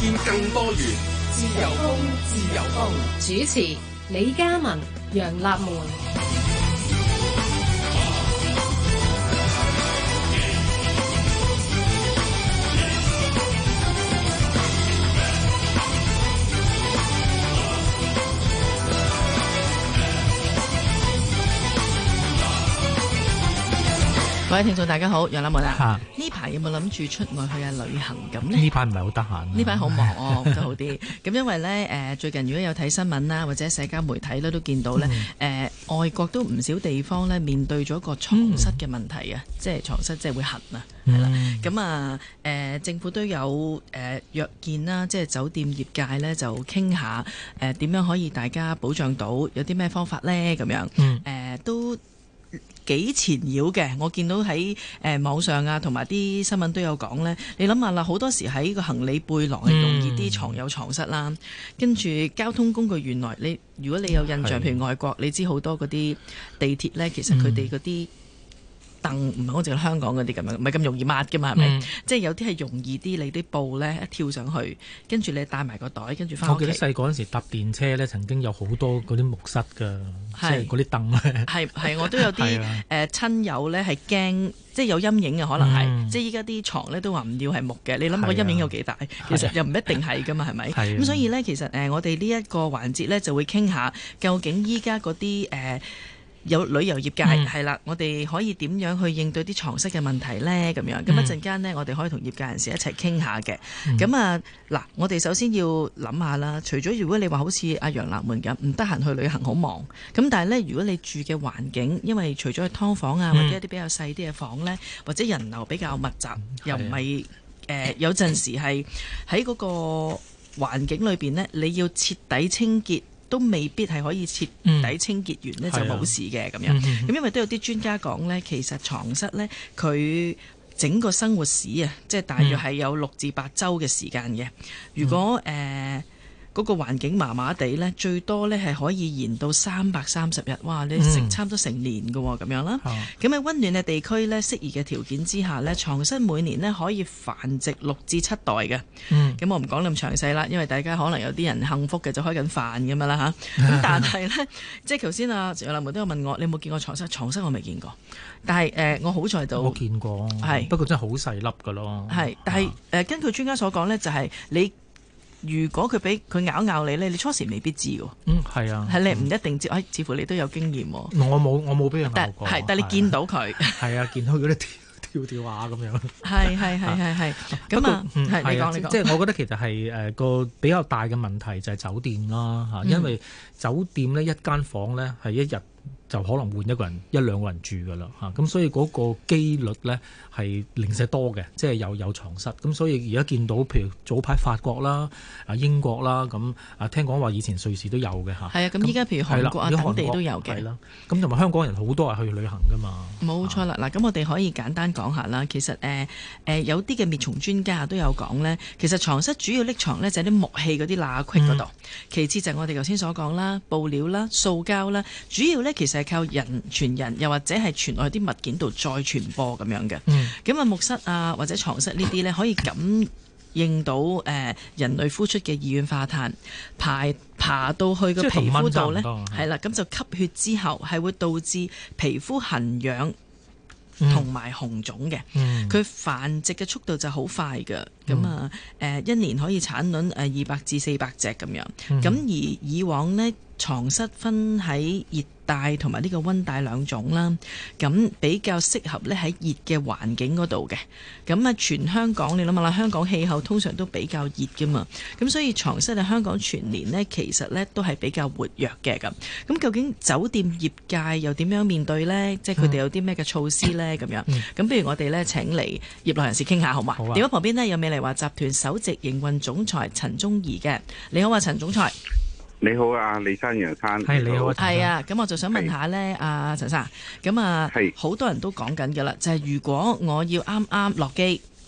見更多元。 自由風，自由風。主持李嘉文、楊立門。 各位聽眾大家好，楊立門啊，呢排有冇諗住出外去下旅行咁呢？ 呢排唔係好得閒， 呢排好忙哦，就好啲。咁因為呢，最近如果有睇新聞啦，或者社交媒體咧，都見到呢，外國都唔少地方呢面對咗個床蝨嘅問題啊，即係床蝨即係會痕啊，係啦。咁啊，政府都有約見啦，即係酒店業界呢，就傾下點樣可以大家保障到，有啲咩方法呢？咁樣都幾纏繞嘅，我見到喺網上啊，同埋啲新聞都有講呢。你諗下啦，好多時喺個行李背囊係容易啲藏有床蝨啦。跟住交通工具，原來如果你有印象，譬如外國，你知好多嗰啲地鐵呢，其實佢哋嗰啲凳唔係好似香港嗰啲咁樣，唔係咁容易抹㗎嘛，係咪？即係有啲係容易啲，你啲布呢一跳上去，跟住你帶埋個袋，跟住翻屋企。 我記得細個嗰陣時搭電車呢，曾經有好多嗰啲木蝨㗎，即係嗰啲凳咧。係我都有啲親友呢係驚，即係有陰影嘅可能係，即係依家啲床呢都話唔要係木嘅，你諗個陰影有幾大？其實又唔一定係㗎嘛，係咪？咁所以呢，其實我哋呢一個環節呢就會傾下，究竟依家嗰啲有旅遊業界係啦，我哋可以點樣去應對啲床蝨嘅問題呢？咁樣咁一陣間呢，我哋可以同業界人士一齊傾下嘅。咁嗱，我哋首先要諗下啦。除咗如果你話好似阿楊立門咁唔得閒去旅行好忙，咁但係呢，如果你住嘅環境，因為除咗去劏房啊，或者一啲比較細啲嘅房呢，或者人流比較密集，又唔係有陣時係喺嗰個環境裏邊呢，你要徹底清潔，都未必係可以徹底清潔完呢，就冇事嘅咁樣。咁因為都有啲專家講呢，其實床蝨呢，佢整個生活史啊，即係大約係有6至8週嘅時間嘅。如果嗰個環境麻麻地呢，最多呢係可以延到330日。哇！你食差唔多成年㗎喎，咁樣啦。咁喺溫暖嘅地區呢，適宜嘅條件之下呢，床蝨每年呢可以繁殖6至7代嘅。咁我唔講咁詳細啦，因為大家可能有啲人幸福嘅就開緊飯咁樣啦嚇。咁但係呢，即係頭先啊楊立門都有問我，你有冇見過床蝨？床蝨我未見過，但係我好在到我見過，不過真係好細粒㗎咯。 係，但係根據專家所講呢，就係你。如果佢俾佢咬你咧，你初時未必知㗎。 係啊， 係你唔一定知。似乎你都有經驗喎。 我冇俾人咬過。 但你見到佢。係啊，見到嗰啲跳下咁樣。 係。咁啊，你講。 即係我覺得其實係個比較大嘅問題就係酒店啦嚇，因為酒店呢一間房呢係一日就可能換1兩個人住㗎啦嚇，咁所以嗰個機率呢係零舍多嘅，即係有床蝨。咁所以而家見到譬如早排法國啦、英國啦，咁聽講話以前瑞士都有嘅嚇。係啊，咁依家譬如韓國等地都有嘅。係啦，咁同埋香港人好多係去旅行㗎嘛。冇錯啦，嗱咁我哋可以簡單講下啦。其實有啲嘅滅蟲專家都有講呢，其實床蝨主要匿藏呢就係啲木器嗰啲罅隙嗰度，其次就係我哋頭先所講啦，布料啦、塑膠啦，主要呢其實係靠人傳人，又或者係傳落去啲物件度再傳播咁樣嘅。咁木蝨啊或者床蝨呢啲呢，可以感應到人類呼出嘅二氧化碳，爬到去個皮膚度呢，係啦，咁就吸血之後係會導致皮膚痕癢同埋紅腫嘅。佢繁殖嘅速度就好快㗎。咁一年可以產卵200至400隻咁樣。咁而以往呢，床蝨分喺熱帶同埋呢個溫帶兩種啦，咁比較適合咧喺熱嘅環境嗰度嘅。咁全香港你諗下啦，香港氣候通常都比較熱㗎嘛，咁所以床蝨喺香港全年呢，其實呢都係比較活躍嘅咁。咁究竟酒店業界又點樣面對呢？即係佢哋有啲咩嘅措施呢？咁樣咁不如我哋呢請嚟業內人士傾下好嘛？電話旁邊呢，有美麗華集團首席營運總裁陳宗彝嘅。你好啊，陳總裁。 你好啊，李生楊生， 係你好， 係啊，咁我就想問下呢，陳生，咁好多人都講緊㗎啦，就係如果我要啱啱落機，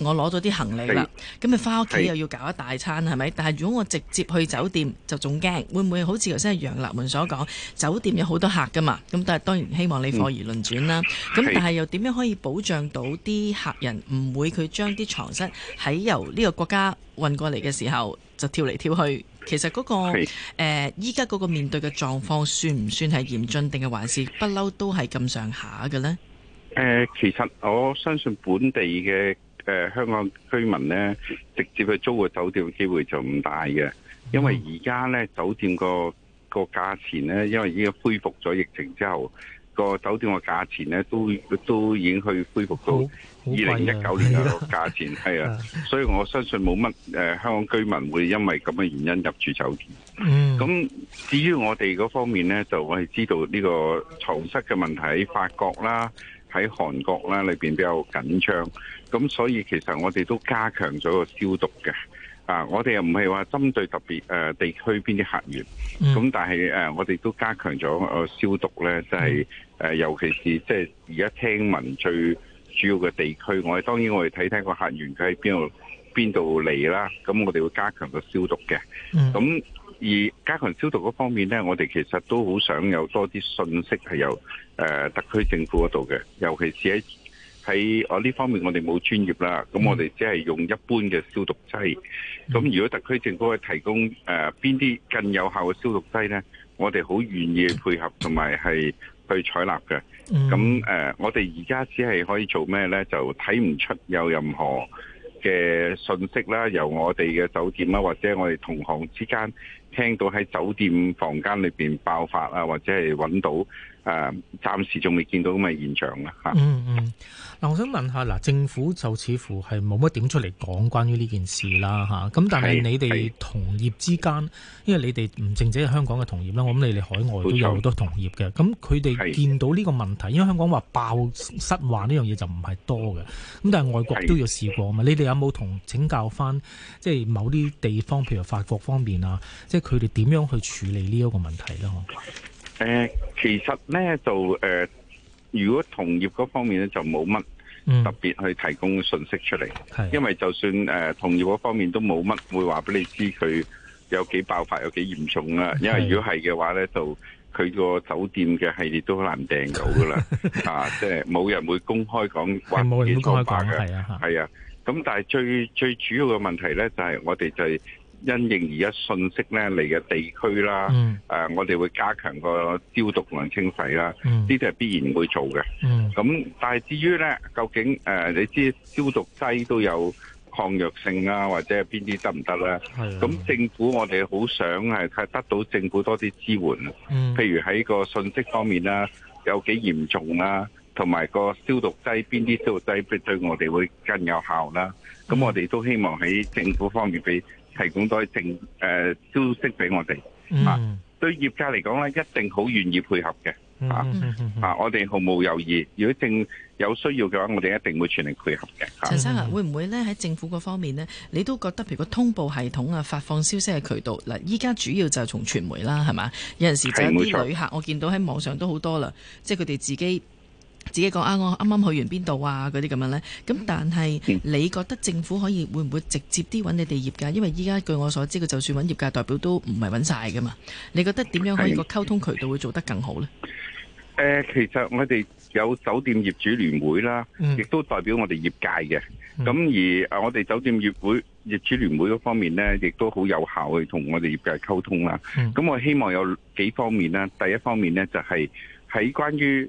我攞咗啲行李啦，咁咪翻屋企又要搞一大餐係咪？但係如果我直接去酒店就仲驚，會唔會好似頭先楊立門所講，酒店有好多客噶嘛？咁但係當然希望你貨而輪轉啦。咁但係又點樣可以保障到啲客人唔會佢將啲床蝨喺由呢個國家運過嚟嘅時候就跳嚟跳去？其實嗰個依家嗰個面對嘅狀況算唔算係嚴峻，定係還是不嬲都係咁上下嘅呢？ 其實我相信本地嘅香港居民呢，直接去租個酒店嘅機會就唔大嘅，因為而家呢酒店個價錢呢，因為已經恢復咗疫情之後，個酒店個價錢呢都已經去恢復到2019年嘅個價錢，係啊，所以我相信冇乜香港居民會因為咁嘅原因入住酒店。咁至於我哋嗰方面呢，就我係知道呢個床蝨嘅問題喺法國啦，喺韓國啦裏邊比較緊張，咁所以其實我哋都加強咗個消毒嘅。我哋又唔係話針對特別地區邊啲客源，咁但係我哋都加強咗消毒咧，即係尤其是即係而家聽聞最主要嘅地區，當然我哋睇個客源佢喺邊度嚟啦，咁我哋會加強個消毒嘅。咁而加強消毒嗰方面咧，我哋其實都好想有多啲信息係由特區政府嗰度嘅，尤其是喺我呢方面我哋冇專業啦，咁我哋只係用一般嘅消毒劑。咁如果特區政府去提供邊啲更有效嘅消毒劑呢，我哋好願意配合同埋係去採納嘅。咁我哋而家只係可以做咩呢？就睇唔出有任何嘅信息啦，由我哋嘅酒店啦，或者我哋同行之間聽到喺酒店房間裏邊爆發啊，或者係揾到暫時仲未見到咁嘅現象啦嚇。 嗱，我想問下嗱，政府就似乎係冇乜點出嚟講關於呢件事啦嚇。咁但係你哋同業之間，因為你哋唔淨止係香港嘅同業啦，我諗你哋海外都有好多同業嘅。咁佢哋見到呢個問題，因為香港話爆蝨患呢樣嘢就唔係多嘅，咁但係外國都要試過啊嘛。你哋有冇同請教翻即係某啲地方，譬如法國方面啊，即係佢哋點樣去處理呢一個問題咧？ 其實咧就如果同業嗰方面咧就冇乜特別去提供信息出嚟，因為就算同業嗰方面都冇乜會話俾你知佢有幾爆發有幾嚴重啦。因為如果係嘅話咧，就佢個酒店嘅系列都好難訂到噶啦，即係冇人會公開講話幾多爆嘅，係啊。咁但係最主要嘅問題咧，就係我哋就係因應而家信息咧嚟嘅地區啦，我哋會加強個消毒同埋清洗啦，呢啲係必然會做嘅。咁但係至於咧，究竟你知消毒劑都有抗藥性啊，或者係邊啲得唔得咧？咁政府我哋好想係得到政府多啲支援，譬如喺個信息方面啦，有幾嚴重啦，同埋個消毒劑邊啲消毒劑對我哋會更有效啦。咁我哋都希望喺政府方面提供多啲消息俾我哋。對業界嚟講咧，一定好願意配合嘅。我哋毫無猶豫。如果有需要嘅話，我哋一定會全力配合嘅。 陳生啊，會唔會咧喺政府嗰方面呢？你都覺得譬如個通報系統啊、發放消息嘅渠道嗱，依家主要就係從傳媒啦，係嘛？有陣時就有啲旅客，我見到喺網上都好多啦，即係佢哋自己講我啱啱去完邊度啊嗰啲咁樣呢。咁但係你覺得政府會唔會直接啲揾你哋業界？因為依家據我所知，佢就算揾業界代表都唔係揾晒噶嘛。你覺得點樣可以個溝通渠道會做得更好呢？ 其實我哋有酒店業主聯會啦，亦都代表我哋業界嘅。咁而我哋酒店業主聯會嗰方面呢，亦都好有效去同我哋業界溝通啦。咁我希望有幾方面啦。第一方面呢，就係喺關於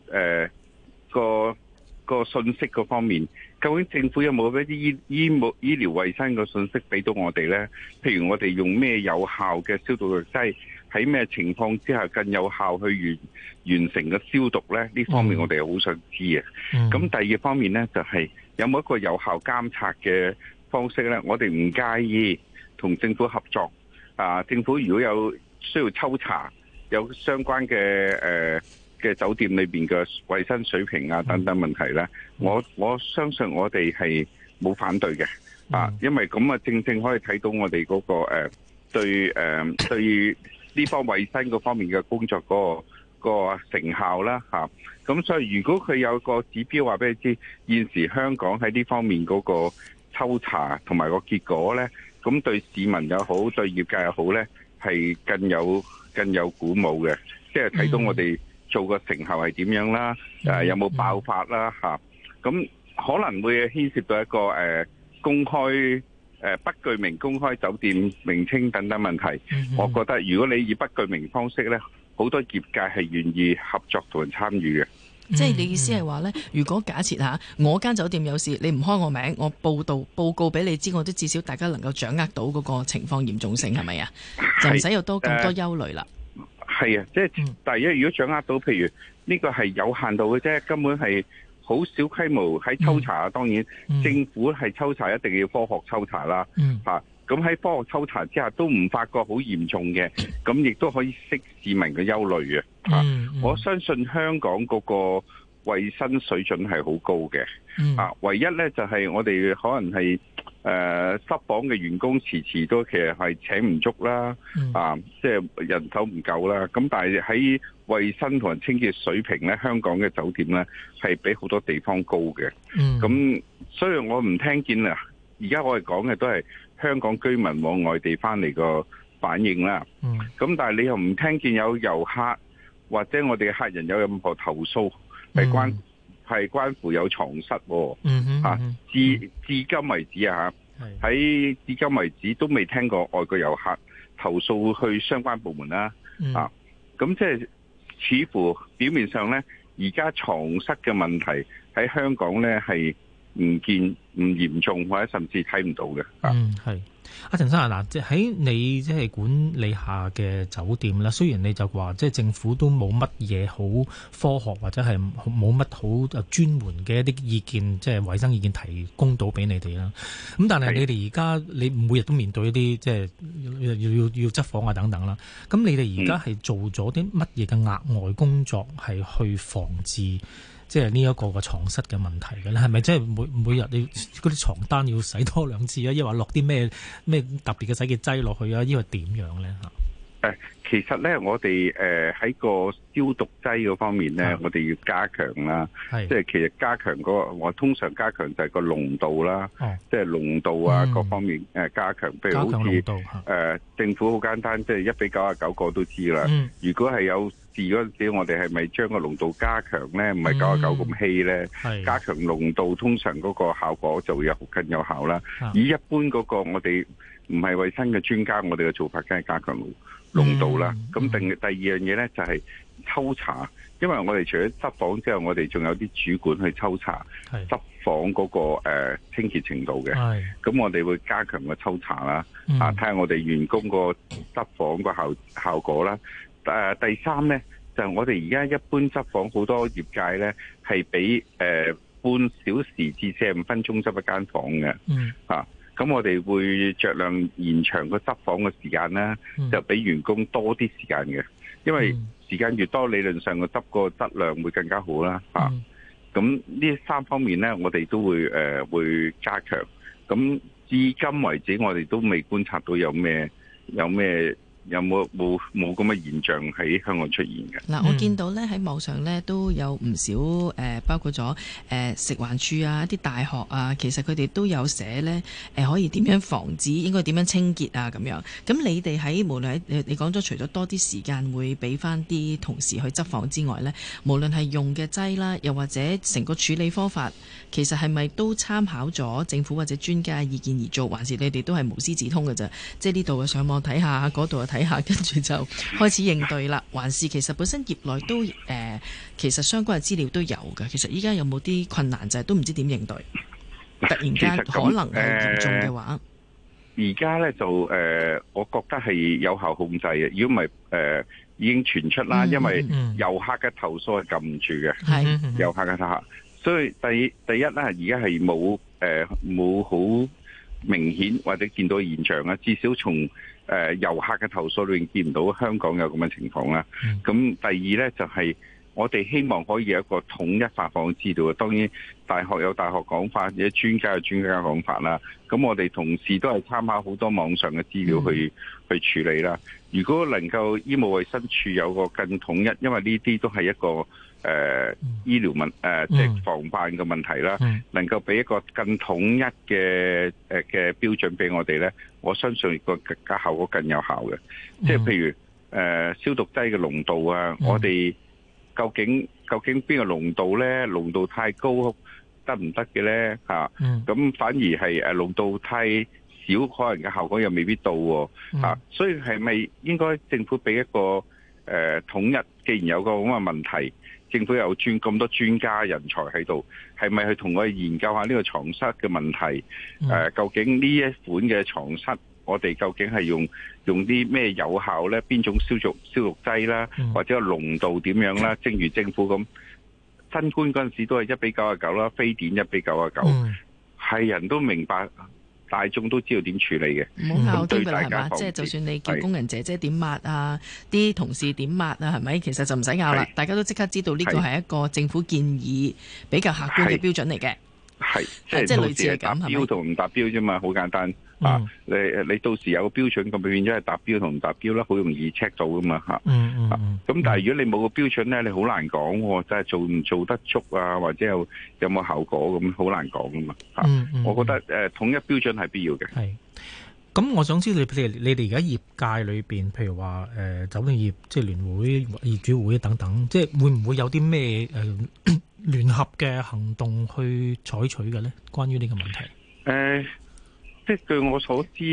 個信息嗰方面，究竟政府有冇一啲醫療衛生嘅信息俾到我哋呢？譬如我哋用咩有效嘅消毒藥劑，喺咩情況之下更有效去完成個消毒呢？呢方面我哋好想知嘅。咁第二方面呢，就係有冇一個有效監察嘅方式呢？我哋唔介意同政府合作。政府如果有需要抽查有相關嘅酒店裏邊嘅衛生水平啊等等問題咧，我相信我哋係冇反對嘅。因為咁正可以睇到我哋嗰個對呢方衛生嗰方面嘅工作嗰個成效啦嚇。咁所以如果佢有個指標話俾你知，現時香港喺呢方面嗰個抽查同埋個結果呢，咁對市民又好，對業界又好呢，係更有鼓舞嘅，即係睇到我哋做個成效係點樣啦，有冇爆發啦嚇，咁可能會牽涉到一個公開不具名公開酒店名稱等等問題。我覺得如果你以不具名方式呢，好多業界係願意合作同埋參與嘅。 即係你意思係話呢，如果假設下我間酒店有事，你唔開我名，我報告俾你知，我都至少大家能夠掌握到嗰個情況嚴重性，係咪啊？就唔使有咁多憂慮啦。 係啊，即係第一，如果掌握到，譬如呢個係有限度嘅啫，根本係好小規模喺抽查。當然政府係抽查一定要科學抽查啦。咁喺科學抽查之下都唔發覺好嚴重嘅，咁亦都可以釋市民嘅憂慮嘅。我相信香港嗰個衛生水準係好高嘅。唯一呢就係我哋可能係執房嘅員工遲都其實係請唔足啦。即係人手唔夠啦。咁但係喺衛生同埋清潔水平呢，香港嘅酒店呢係比好多地方高嘅。咁所以我唔聽見啊。而家我哋講嘅都係香港居民往外地翻嚟個反應啦。咁但係你又唔聽見有遊客或者我哋嘅客人有任何投訴係關乎有床蝨。至今為止喺至今為止都未聽過外國遊客投訴去相關部門啦。咁即係似乎表面上呢，而家床蝨嘅問題喺香港呢係唔嚴重，或者甚至睇唔到嘅。 係阿陳生啊，嗱，即係喺你即係管理下嘅酒店啦。雖然你就話即係政府都冇乜嘢好科學或者係冇乜好專門嘅一啲意見，即係衛生意見提供到俾你哋啦。咁但係你哋而家你每日都面對一啲即係要執房啊等等啦。咁你哋而家係做咗啲乜嘢嘅額外工作係去防治即係呢一個嘅床蝨嘅問題嘅咧？係咪即係每日你嗰啲床單要洗多2次啊？抑或落啲咩特別嘅洗潔劑落去啊？抑或點樣咧？ 其實咧，我哋喺個消毒劑嗰方面咧，我哋要加強啦。即係其實加強我通常加強就係個濃度啦。即係濃度啊，各方面加強。譬如好似政府好簡單，即係1:99個都知啦。如果係有事嗰陣時，我哋係咪將個濃度加強咧？唔係99咁稀咧？加強濃度，通常嗰個效果就會更有效啦。以一般嗰個我哋唔係衛生嘅專家，我哋嘅做法梗係加強濃度啦。咁第二樣嘢咧就係抽查，因為我哋除咗執房之後，我哋仲有啲主管去抽查執房嗰個清潔程度嘅。咁我哋會加強個抽查啦。睇下我哋員工個執房個效果啦。第三咧就係我哋而家一般執房好多業界咧係俾半小時至45分鐘執一間房嘅。咁我哋會酌量延長個執房嘅時間啦，就俾員工多啲時間嘅，因為時間越多，理論上個執個質量會更加好啦。咁呢3方面呢，我哋都會加強。咁至今為止，我哋都未觀察到有冇咁嘅現象喺香港出現嘅？ 嗱，我見到咧喺網上咧都有唔少包括咗食環署啊、一啲大學啊，其實佢哋都有寫咧可以點樣防止，應該點樣清潔啊咁樣。咁你哋喺無論喺你講咗，除咗多啲時間會俾翻啲同事去執房之外咧，無論係用嘅劑啦，又或者成個處理方法，其實係咪都參考咗政府或者專家嘅意見而做，還是你哋都係無師自通嘅啫？即係呢度上網睇下，嗰度睇下，跟住就開始應對啦。還是其實本身業內都其實相關嘅資料都有嘅。其實依家有冇啲困難就係都唔知點應對，突然間可能係嚴重嘅話， 而家呢就我覺得係有效控制嘅。如果唔係已經傳出啦，因為遊客嘅投訴係撳唔住嘅，遊客嘅投訴。所以第一呢，而家係冇好明顯或者見到現象啦，至少從遊客嘅投訴裏面見唔到香港有咁嘅情況啦。咁第二呢，就係我哋希望可以有一個統一發放嘅資料。當然大學有大學講法，或者專家有專家講法啦。咁我哋同事都係參考好多網上嘅資料去處理啦。如果能夠醫務衛生署有個更統一，因為呢啲都係一個醫療即係防範嘅問題啦，能夠俾一個更統一嘅標準俾我哋咧，我相信個效果更有效嘅。即係譬如消毒劑嘅濃度啊，我哋究竟邊個濃度咧？濃度太高得唔得嘅咧？咁反而係濃度太少，可能嘅效果又未必到喎。所以係咪應該政府俾一個統一？既然有個咁嘅問題，政府有咁多專家人才喺度，係咪去同我哋研究下呢個床蝨嘅問題？究竟呢一款嘅床蝨，我哋究竟係用啲咩有效呢？邊種消毒劑啦，或者個濃度點樣啦？正如政府咁，新冠嗰陣時都係1:99啦，非典1:99，係人都明白。大眾都知道點處理嘅， 唔好拗啲㗎啦，係嘛？即係就算你叫工人姐姐點抹啊，啲同事點抹啊，係咪？其實就唔使拗啦，大家都即刻知道呢個係一個政府建議比較客觀嘅標準嚟嘅。係，即係類似係咁，係咪？達標同唔達標啫嘛，好簡單。你到時有個標準，咁變咗係達標同唔達標啦，好容易 check 到噶嘛嚇。咁但係如果你冇個標準咧，你好難講喎，即係做唔做得足啊，或者有冇效果咁，好難講噶嘛。我覺得統一標準係必要嘅。係。 咁我想知你哋而家業界裏邊，譬如話酒店業即係聯會、業主會等等，即係會唔會有啲咩聯合嘅行動去採取嘅咧？關於呢個問題。 即係據我所知，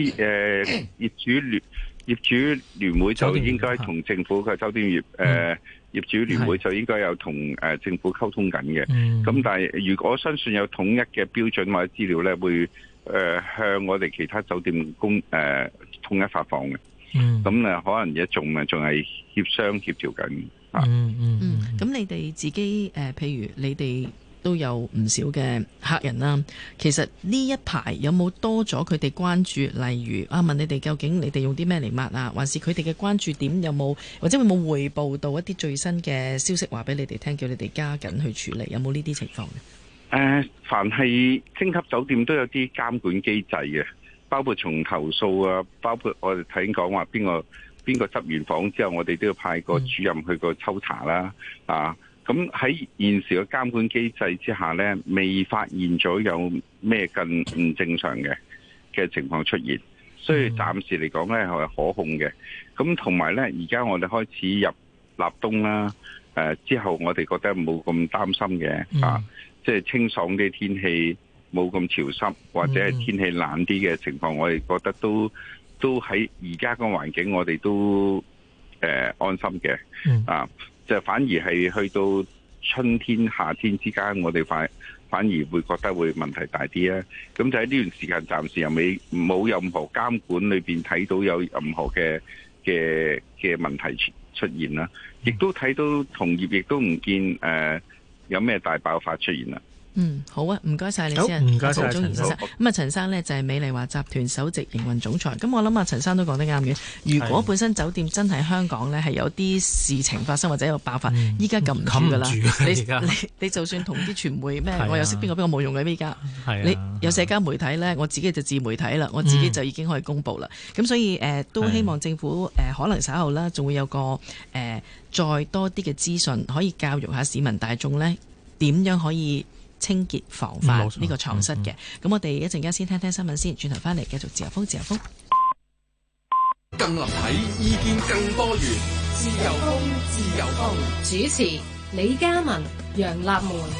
業主聯會就應該同政府嘅酒店業業主聯會就應該有同政府溝通緊嘅。咁但係如果我相信有統一嘅標準或者資料咧，會向我哋其他酒店統一發放嘅。咁可能而家仲係協調緊。 咁你哋自己譬如你哋都有唔少嘅客人啦。其實呢一排有冇多咗佢哋關注？例如問你哋究竟你哋用啲咩嚟抹啊？還是佢哋嘅關注點有冇，或者會冇匯報到一啲最新嘅消息話俾你哋聽，叫你哋加緊去處理？有冇呢啲情況嘅？ 凡係星級酒店都有啲監管機制嘅，包括從投訴啊，包括我哋睇講話邊個執完房之後，我哋都要派個主任去個抽查啦。咁喺現時嘅監管機制之下呢，未發現咗有咩更唔正常嘅情況出現，所以暫時嚟講呢係可控嘅。咁同埋呢，而家我哋開始入立冬啦，之後我哋覺得冇咁擔心嘅，即係清爽啲天氣，冇咁潮濕或者係天氣冷啲嘅情況，我哋覺得都喺而家個環境，我哋都安心嘅。就反而係去到春天、夏天之間，我哋反而會覺得會問題大啲啊！咁就喺呢段時間，暫時又冇任何監管裏邊睇到有任何嘅問題出現啦，亦都睇到同業亦都唔見有咩大爆發出現啦。 好啊，唔該晒你先， 唔該晒陳生。咁陳生呢就係美麗華集團首席營運總裁。咁我諗陳生都講得啱嘅。如果本身酒店真係香港呢係有啲事情發生或者有爆發，依家撳唔住噶啦。你就算同啲傳媒咩，我又識邊個冇用嘅依家。你有社交媒體呢，我自己就自媒體啦，我自己就已經可以公佈啦。咁所以都希望政府可能稍後啦，仲會有個再多啲嘅資訊，可以教育下市民大眾呢點樣可以清潔防範呢個床蝨嘅。咁我哋一陣間先聽聽新聞先，轉頭翻嚟繼續自由風。 更立體，意見更多元。自由風。 主持李嘉文、楊立門。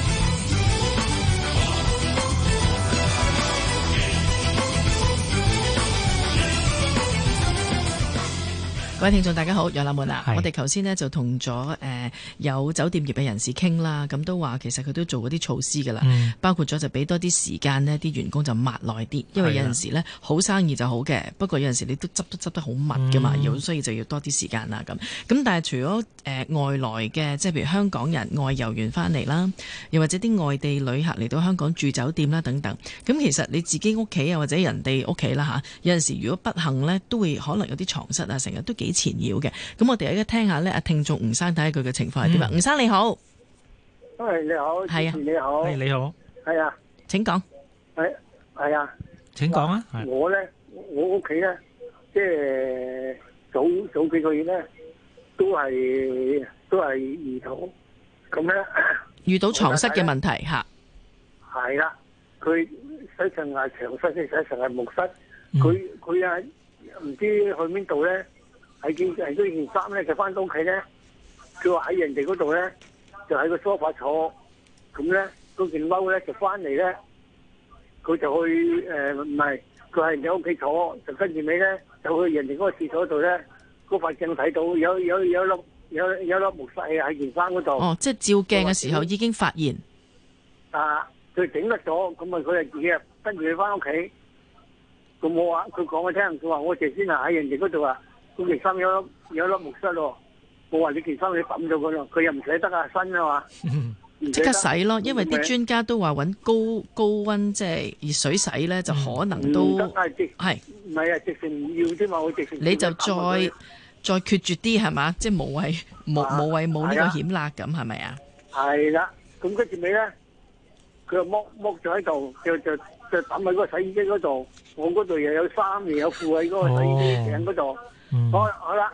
各位聽眾大家好，楊立門啊，我哋頭先呢就同咗有酒店業嘅人士傾啦，咁都話其實佢都做嗰啲措施噶啦，包括咗就俾多啲時間呢啲員工就抹耐啲，因為有陣時呢好生意就好嘅，不過有陣時你都執得好密噶嘛，所以就要多啲時間啦咁。咁但係除咗外來嘅，即係譬如香港人外遊完翻嚟啦，又或者啲外地旅客嚟到香港住酒店啦等等，咁其實你自己屋企啊或者人哋屋企啦嚇，有陣時如果不幸呢，都會可能有啲床蝨啊，成日都幾纏繞嘅。咁我哋而家聽下呢，阿聽眾吳生睇下佢嘅情況係點啊。吳生你好， 你好，係啊，你好， 你好， 係啊， 請講， 係啊， 請講啊。 我屋企咧，即係早幾個月咧，都係兒童咁咧遇到床蝨嘅問題嚇。 係啦，佢洗層係牆蝨，洗層係木蝨。佢啊唔知去邊度咧，係件衫咧就翻到屋企咧，佢話喺人哋嗰度咧就喺個梳化坐，咁咧嗰件褸咧就翻嚟咧，佢就去唔係，佢喺人哋屋企坐，就跟住尾咧就去人哋嗰個廁所度咧，嗰塊鏡睇到有粒木蝨喺件衫嗰度。 哦，即係照鏡嘅時候已經發現。 佢整得咗，咁啊佢係自己跟住佢翻屋企。咁我話佢講我聽，佢話我頭先喺人哋嗰度啊，嗰件衫有粒木蝨咯。我話你件衫你抌咗佢咯，佢又唔捨得啊，新啊嘛。 即刻洗咯，因為啲專家都話揾高溫即係熱水洗咧，就可能都係唔係啊？直情唔要啫嘛，我直情你就再決絕啲係嘛？即係無謂冇呢個險辣咁係咪啊？係啦，咁跟住尾咧，佢就剝咗喺度，就抌喺嗰個洗衣機嗰度。我嗰度又有衫又有褲喺嗰個洗衣機頂嗰度。好啦，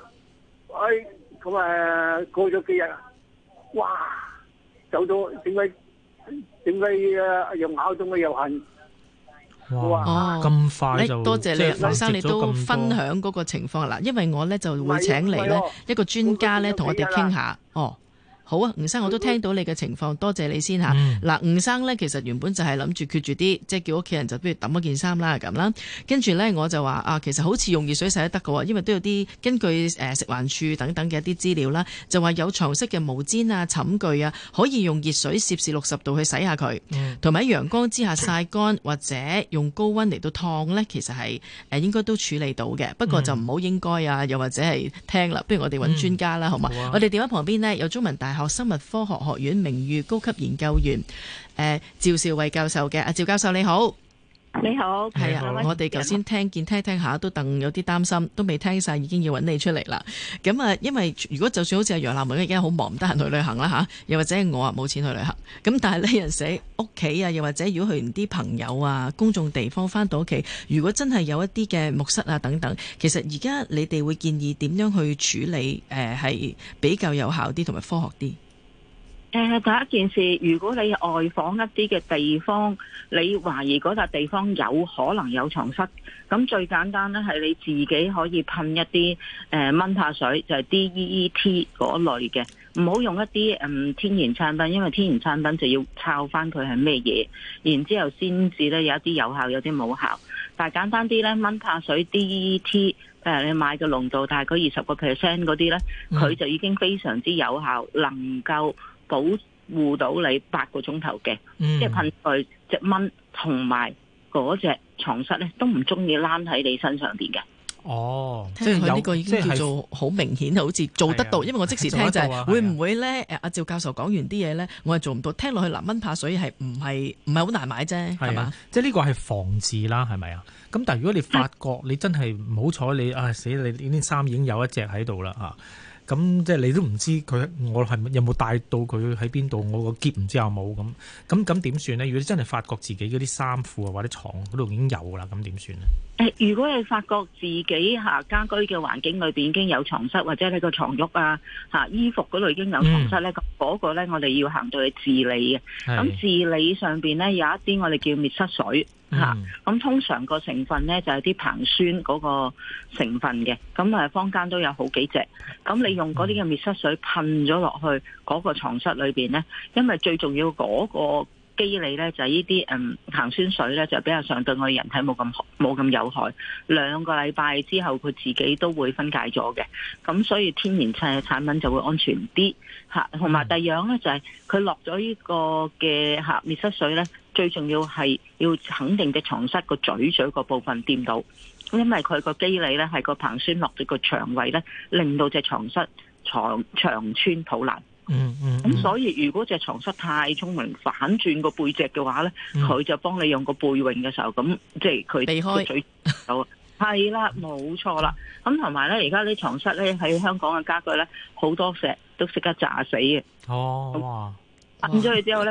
咁過咗幾日，哇！走到點解又咬到我又痕？ 哇！咁快就多謝你，吳生，你都分享嗰個情況啦。因為我咧就會請嚟咧一個專家咧同我哋傾下。好啊，吳生，我都聽到你嘅情況，多謝你先嚇。嗱，吳生呢，其實原本就係諗住決絕啲，即係叫屋企人就不如抌嗰件衫啦咁啦。跟住呢，我就話其實好似用熱水洗都得嘅喎，因為都有啲根據食環署等等嘅一啲資料啦，就話有床蝨嘅毛氈啊、寢具啊，可以用熱水攝氏60度去洗下佢，同埋喺陽光之下曬乾，或者用高溫嚟到燙呢，其實係應該都處理到嘅。不過就唔好應該啊，又或者係聽啦，不如我哋揾專家啦，好嘛？我哋電話旁邊呢，有中文大學生物科學學院名譽高級研究員趙兆惠教授嘅。阿趙教授你好。 你好， 係啊，我哋頭先聽下都有啲擔心，都未聽晒已經要揾你出嚟啦。咁啊，因為如果就算好似阿楊立門而家好忙唔得閒去旅行啦吓，又或者我冇錢去旅行，咁但係呢人寫屋企啊，又或者如果去完啲朋友啊公眾地方翻到屋企，如果真係有一啲嘅木蝨啊等等，其實而家你哋會建議點樣去處理係比較有效啲同埋科學啲？ 第一件事，如果你外訪一啲嘅地方，你懷疑嗰笪地方有可能有床蝨，咁最簡單咧係你自己可以噴一啲蚊怕水，就係 DEET 嗰類嘅，唔好用一啲天然產品，因為天然產品就要抄翻佢係咩嘢，然之後先至咧有一啲有效，有啲冇效。但係簡單啲咧，蚊怕水 DEET。你買嘅濃度大概20%嗰啲咧，佢就已經非常之有效，能夠保護到你8個鐘頭嘅，即係噴佢隻蚊同埋嗰隻床蝨咧，都唔中意躝喺你身上邊嘅。 即係佢呢個已經叫做好明顯，好似做得到。因為我即時聽就係會唔會咧？阿趙教授講完啲嘢咧，我係做唔到。聽落去蚊怕水係唔係好難買啫，係嘛？ 即係呢個係防治啦，係咪啊？咁但係如果你發覺你真係唔好彩，你死你呢啲衫已經有一隻喺度啦嚇，咁即係你都唔知我係有冇帶到佢喺邊度，我個篋唔知有冇咁點算呢？如果你真係發覺自己嗰啲衫褲啊或者床嗰度已經有啦，咁點算呢？ 如果你發覺自己家居嘅環境裏邊已經有床蝨，或者你個床褥衣服嗰度已經有床蝨咧，嗰個咧我哋要行到去治理嘅。咁治理上邊咧有一啲我哋叫滅蝨水。咁通常個成分咧就係啲硼酸嗰個成分嘅，咁坊間都有好幾隻。咁你用嗰啲嘅滅蝨水噴咗落去嗰個床蝨裏邊咧，因為最重要嗰個機理咧就係呢啲硼酸水咧就比較上對我哋人體冇咁有害。2個禮拜之後佢自己都會分解咗嘅，咁所以天然產品就會安全啲嚇。同埋第二樣咧就係佢落咗呢個嘅滅蝨水咧，最重要係要肯定隻床蝨個嘴個部分掂到，因為佢個機理咧係個硼酸落咗個腸胃咧，令到隻床蝨腸穿肚爛。咁所以如果隻床蝨太聰明，反轉個背脊嘅話咧，佢就幫你用個背泳嘅時候，咁即係佢避開嘴係啦，冇錯啦。咁同埋咧，而家啲床蝨咧喺香港嘅家居咧，好多石都識得炸死嘅。 哇！ 噴咗佢之後咧，佢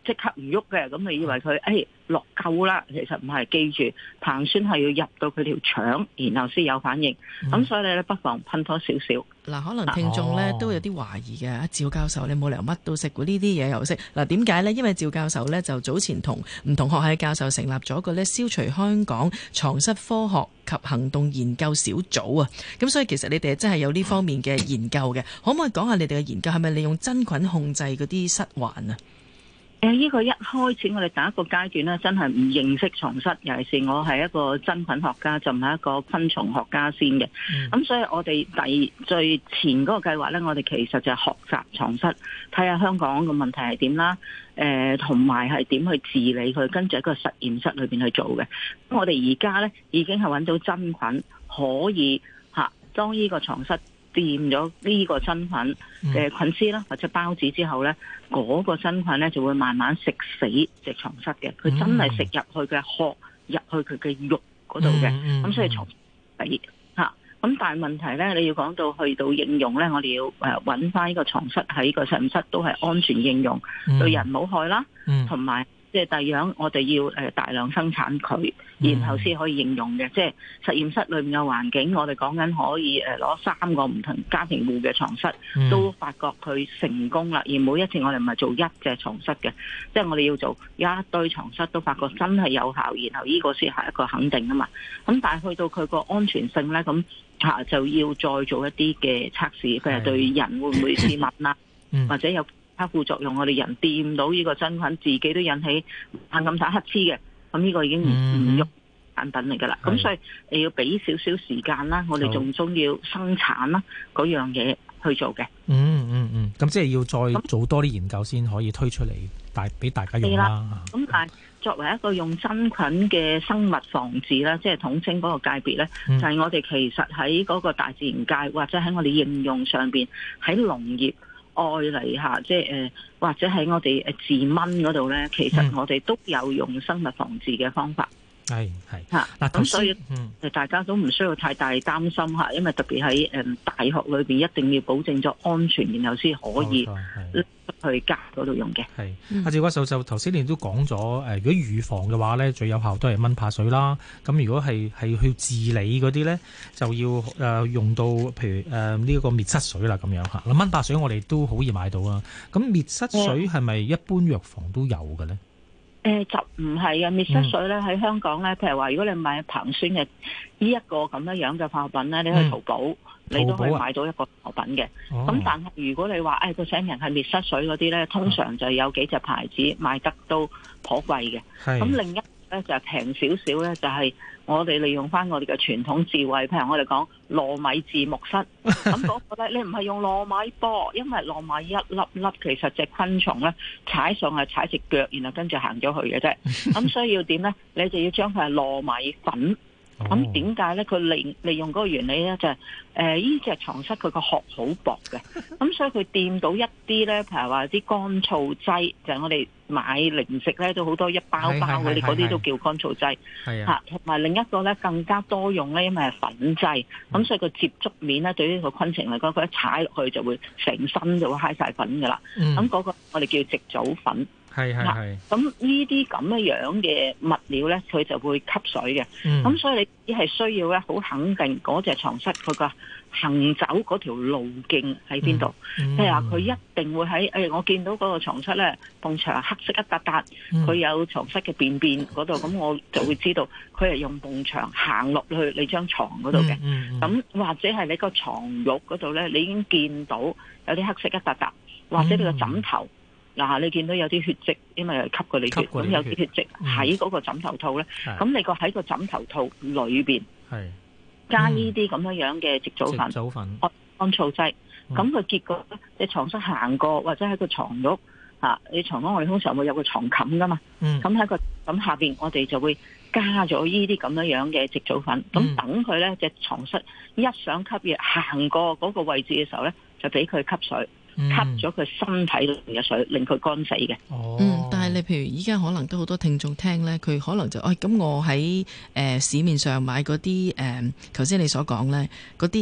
即刻唔喐嘅，咁你以為佢落夠啦，其實唔係，記住硼酸係要入到佢條腸，然後先有反應。咁所以你不妨噴多少少。 嗱，可能聽眾咧都有啲懷疑嘅，趙教授你冇理由乜都識喎，呢啲嘢又識。嗱，點解呢？因為趙教授呢，就早前同唔同學系教授成立咗一個呢消除香港床蝨科學及行動研究小組啊。咁所以其實你哋真係有呢方面嘅研究嘅，可唔可以講下你哋嘅研究係咪利用真菌控制嗰啲蝨患啊？ 呢個一開始我哋第一個階段呢，真係唔認識床蝨，尤其是我係一個真菌學家，就唔係一個昆蟲學家先嘅。咁所以我哋最前嗰個計劃呢，我哋其實就係學習床蝨，睇下香港嘅問題係點啦，同埋係點去治理佢，跟住喺個實驗室裏邊去做嘅。咁我哋而家呢，已經係揾到真菌可以當呢個床蝨掂咗呢個真菌嘅菌絲啦，或者孢子之後呢，嗰個真菌呢就會慢慢食死隻床蝨嘅。佢真係食入去嘅殼，入去佢嘅肉嗰度嘅。咁所以床死嚇。咁但係問題呢，你要講到去到應用呢，我哋要揾翻呢個床蝨喺個實驗室都係安全應用，對人冇害啦，同埋即係第二樣，我哋要大量生產佢，然後先可以應用嘅。即係實驗室裏面嘅環境，我哋講緊可以攞3個唔同家庭戶嘅床蝨，都發覺佢成功啦。而每一次我哋唔係做一隻床蝨嘅，即係我哋要做一堆床蝨，都發覺真係有效，然後呢個先係一個肯定啊嘛。咁但係去到佢個安全性咧，咁就要再做一啲嘅測試，譬如對人會唔會致敏啦，或者有副作用，我哋人掂到呢個真菌，自己都引起猛咁打乞嗤嘅，咁呢個已經唔喐產品嚟噶啦。咁所以你要俾少少時間啦，我哋仲要生產啦嗰樣嘢去做嘅。 咁即係要再做多啲研究先可以推出嚟，俾大家用啦。 咁但係作為一個用真菌嘅生物防治啦，即係統稱嗰個界別咧，就係我哋其實喺嗰個大自然界或者喺我哋應用上邊，喺農業愛嚟下，即係或者喺我哋治蚊嗰度咧，其實我哋都有用生物防治嘅方法。 係嚇，咁所以大家都唔需要太大擔心嚇，因為特別喺大學裏邊一定要保證咗安全，然後先可以去家嗰度用嘅。 係阿趙教授就頭先你都講咗如果預防嘅話咧，最有效都係蚊怕水啦。咁如果係去治理嗰啲咧，就要用到譬如呢個滅蝨水啦咁樣嚇。蚊怕水我哋都好易買到啊。咁滅蝨水係咪一般藥房都有嘅咧？ 就唔係啊！滅蝨水咧喺香港咧，譬如話如果你買硼酸嘅呢一個咁樣嘅化學品咧，你去淘寶，你都可以買到一個化學品嘅。咁但係如果你話佢請人係滅蝨水嗰啲咧，通常就有幾隻牌子賣得都頗貴嘅。咁另一咧就係平少少咧，就係我哋利用翻我哋嘅傳統智慧，譬如我哋講糯米治木蝨，咁嗰個咧你唔係用糯米波，因為糯米一粒粒其實隻昆蟲咧踩上係踩隻腳，然後跟住行咗去嘅啫。咁所以要點咧？你就要將佢係糯米粉。咁點解咧？佢利用嗰個原理咧，就係呢隻床蝨佢個殼好薄嘅，咁所以佢掂到一啲咧，譬如話啲乾燥劑，就係我哋買零食咧都好多一包包嗰啲，嗰啲都叫乾燥劑。嚇，同埋另一個咧更加多用咧，因為係粉劑，咁所以個接觸面咧對於個昆蟲嚟講，佢一踩落去就會成身就會揩晒粉噶啦。咁嗰個我哋叫矽藻粉。 係。 咁呢啲咁樣嘅物料咧，佢就會吸水嘅。咁所以你只係需要咧，好肯定嗰隻床蝨佢個行走嗰條路徑喺邊度。譬如話佢一定會喺我見到嗰個床蝨咧，埲牆黑色一笪笪，佢有床蝨嘅便便嗰度，咁我就會知道佢係用埲牆行落去你張床嗰度嘅。咁或者係你個床褥嗰度咧，你已經見到有啲黑色一笪笪，或者你個枕頭。嗱，你見到有啲血跡，因為吸過你血，咁有啲血跡喺嗰個枕頭套咧，咁你個喺個枕頭套裏邊加呢啲咁樣嘅矽藻粉、乾燥劑，咁佢結果你床蝨行過或者喺個床褥你床褥我哋通常會有個床冚噶嘛，咁喺個咁下邊我哋就會加咗呢啲咁樣嘅矽藻粉，咁等佢咧隻床ซุ้一想吸嘢行過嗰個位置嘅時候咧，就俾佢吸水。吸咗佢身體裏面嘅水，令佢乾死嘅。 但係你譬如依家可能都好多聽眾聽咧，佢可能就咁我喺市面上買嗰啲頭先你所講咧嗰啲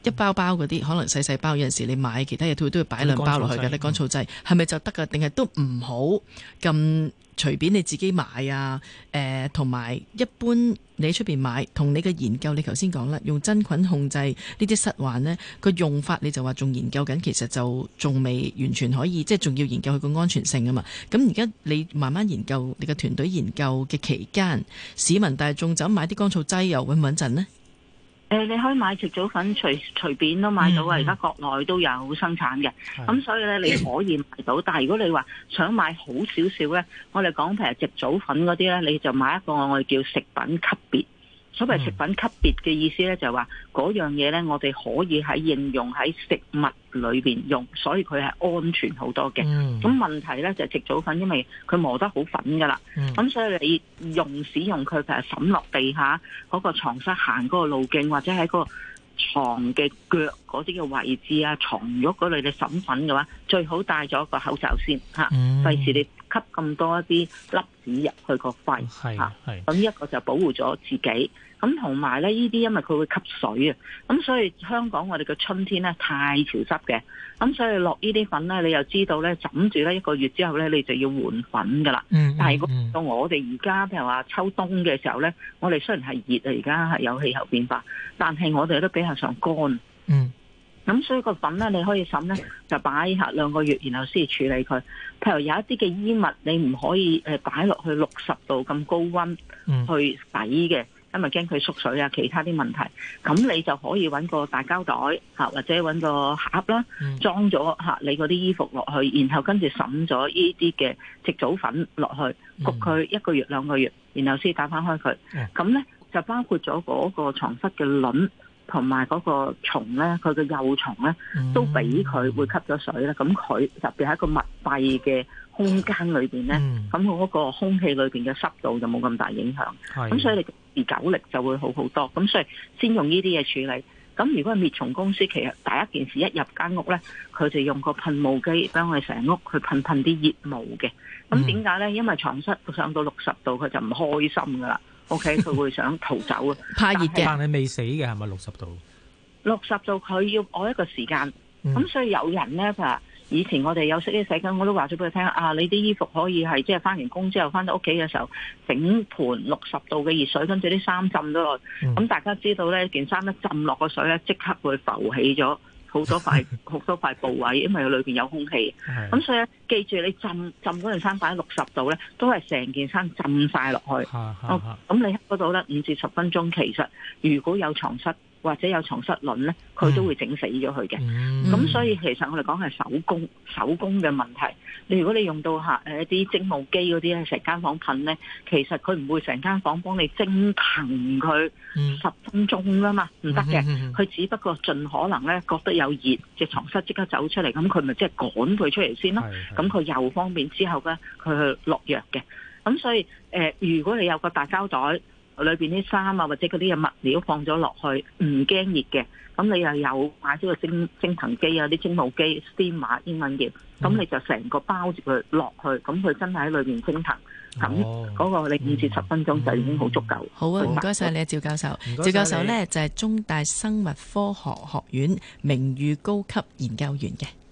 一包包嗰啲可能細細包，有陣時你買其他嘢，佢都要擺兩包落去嘅咧，乾燥劑係咪就得㗎？定係都唔好咁隨便你自己買啊？同埋一般你喺出邊買，同你嘅研究，你頭先講啦，用真菌控制呢啲蝨患呢個用法，你就話仲研究緊，其實就仲未完全可以，即係仲要研究佢個安全性啊嘛。咁而家你慢慢研究，你嘅團隊研究嘅期間，市民大眾就買啲乾燥劑又穩唔穩陣呢？ 你可以買矽藻粉隨便都買到啊！而家國內都有生產嘅，咁所以咧你可以買到。但係如果你話想買好少少咧，我哋講譬如矽藻粉嗰啲咧，你就買一個我哋叫食品級別。所謂食品級別嘅意思咧，就係話嗰樣嘢咧，我哋可以喺應用喺食物裏邊用，所以佢係安全好多嘅。咁問題咧就係矽藻粉，因為佢磨得好粉噶啦，咁所以你使用佢譬如抌落地下嗰個床室行嗰個路徑，或者喺個床嘅腳嗰啲嘅位置啊，床褥嗰類嘅抌粉嘅話，最好戴咗個口罩先嚇，費事你吸咁多一啲粒子入去個肺嚇。咁一個就保護咗自己。咁同埋咧，呢啲因為佢會吸水啊，咁所以香港我哋嘅春天咧太潮濕嘅，咁所以落呢啲粉咧，你又知道咧，枕住咧1個月之後咧，你就要換粉噶啦。但係到我哋而家譬如話秋冬嘅時候咧，我哋雖然係熱啊，而家係有氣候變化，但係我哋都比較上乾。咁所以個粉咧，你可以審咧，就擺下2個月，然後先處理佢。譬如有一啲嘅衣物，你唔可以擺落去60度咁高溫去洗嘅。因為驚佢縮水啊，其他啲問題，咁你就可以揾個大膠袋嚇，或者揾個盒啦，裝咗嚇你嗰啲衣服落去，然後跟住滲咗呢啲嘅矽藻粉落去，焗佢1個月2個月，然後先打翻開佢。咁呢就包括咗嗰個床蝨嘅卵同埋嗰個蟲呢，佢嘅幼蟲呢都俾佢會吸咗水啦。咁佢特別喺一個密閉嘅空間裏邊呢，咁嗰個空氣裏邊嘅濕度就冇咁大影響。咁所以你持久力就會好好多，咁所以先用呢啲嘢處理。咁如果係滅蟲公司，其實第一件事一入間屋呢，佢就用個噴霧機幫我哋成屋去噴啲熱霧嘅。咁點解呢？因為床蝨上到60度，佢就唔開心噶啦。OK， 佢會想逃走啊， 怕熱嘅。 但係未死嘅係咪60度 ？60度佢要愛一個時間。咁所以有人呢，就以前我哋有識啲洗緊，我都話咗俾佢聽啊！你啲衣服可以係即係翻完工之後翻到屋企嘅時候，整盤60度嘅熱水，跟住啲衫浸咗落。咁大家知道呢件衫一浸落個水呢，即刻會浮起咗好多塊部位，因為佢裏邊有空氣。咁所以記住，你浸嗰件衫擺喺60度呢，都係成件衫浸晒落去。咁你嗰度呢5至10分鐘，其實如果有床蝨或者有床蝨卵咧，佢都會整死咗佢嘅。咁所以其實我哋講係手工嘅問題。如果你用到一啲蒸霧機嗰啲咧，成間房噴咧，其實佢唔會成間房幫你蒸騰佢10分鐘噶嘛，唔得嘅。佢只不過盡可能咧覺得有熱，隻床蝨即刻走出嚟，咁佢咪即係趕佢出嚟先咯。咁佢又方便之後咧，佢去落藥嘅。咁所以如果你有個大膠袋，裏邊啲衫啊，或者嗰啲嘅物料放咗落去，唔驚熱嘅，咁你又有買咗個蒸騰機啊，啲蒸霧機 steamer 英文叫，咁你就成個包住佢落去，咁佢真係喺裏邊蒸騰，咁嗰個你5至10分鐘就已經好足夠。 好啊，唔該晒你，趙教授。趙教授呢就係中大生物科學學院名譽高級研究員嘅。